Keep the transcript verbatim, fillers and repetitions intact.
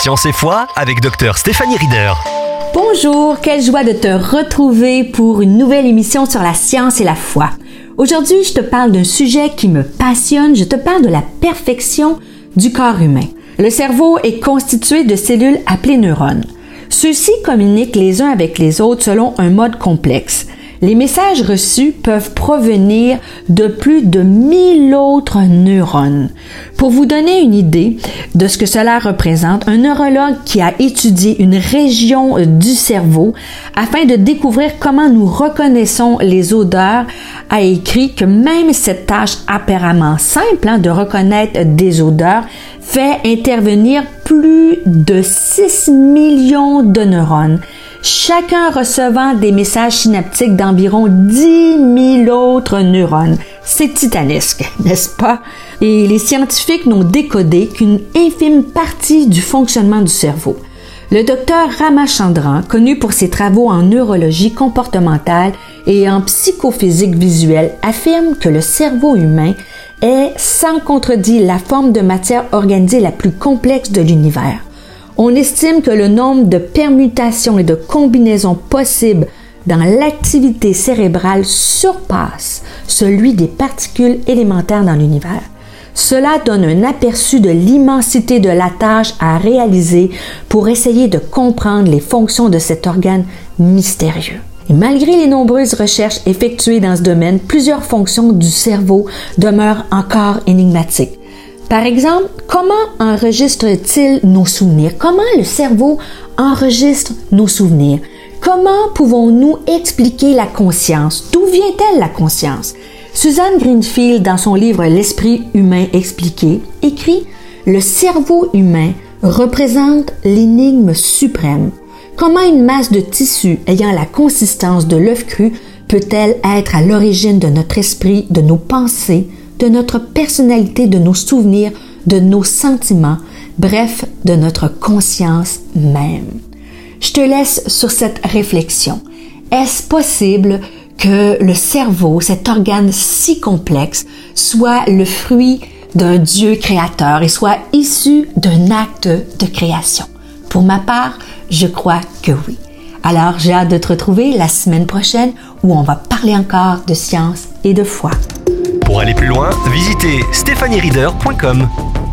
Science et foi avec Docteur Stéphanie Rieder. Bonjour, quelle joie de te retrouver pour une nouvelle émission sur la science et la foi. Aujourd'hui, je te parle d'un sujet qui me passionne, je te parle de la perfection du corps humain. Le cerveau est constitué de cellules appelées neurones. Ceux-ci communiquent les uns avec les autres selon un mode complexe. Les messages reçus peuvent provenir de plus de mille autres neurones. Pour vous donner une idée de ce que cela représente, un neurologue qui a étudié une région du cerveau afin de découvrir comment nous reconnaissons les odeurs a écrit que même cette tâche apparemment simple hein, de reconnaître des odeurs fait intervenir plus de six millions de neurones, chacun recevant des messages synaptiques d'environ dix mille autres neurones. C'est titanesque, n'est-ce pas? Et les scientifiques n'ont décodé qu'une infime partie du fonctionnement du cerveau. Le docteur Ramachandran, connu pour ses travaux en neurologie comportementale et en psychophysique visuelle, affirme que le cerveau humain est, sans contredit, la forme de matière organisée la plus complexe de l'univers. On estime que le nombre de permutations et de combinaisons possibles dans l'activité cérébrale surpasse celui des particules élémentaires dans l'univers. Cela donne un aperçu de l'immensité de la tâche à réaliser pour essayer de comprendre les fonctions de cet organe mystérieux. Et malgré les nombreuses recherches effectuées dans ce domaine, plusieurs fonctions du cerveau demeurent encore énigmatiques. Par exemple, comment enregistre-t-il nos souvenirs? Comment le cerveau enregistre nos souvenirs? Comment pouvons-nous expliquer la conscience? D'où vient-elle la conscience? Suzanne Greenfield, dans son livre « L'esprit humain expliqué », écrit « Le cerveau humain représente l'énigme suprême. Comment une masse de tissu ayant la consistance de l'œuf cru peut-elle être à l'origine de notre esprit, de nos pensées, de notre personnalité, de nos souvenirs, de nos sentiments, bref, de notre conscience même? » Je te laisse sur cette réflexion. Est-ce possible que le cerveau, cet organe si complexe, soit le fruit d'un Dieu créateur et soit issu d'un acte de création? Pour ma part, je crois que oui. Alors, j'ai hâte de te retrouver la semaine prochaine où on va parler encore de science et de foi. Pour aller plus loin, visitez stéphanie rieder point com.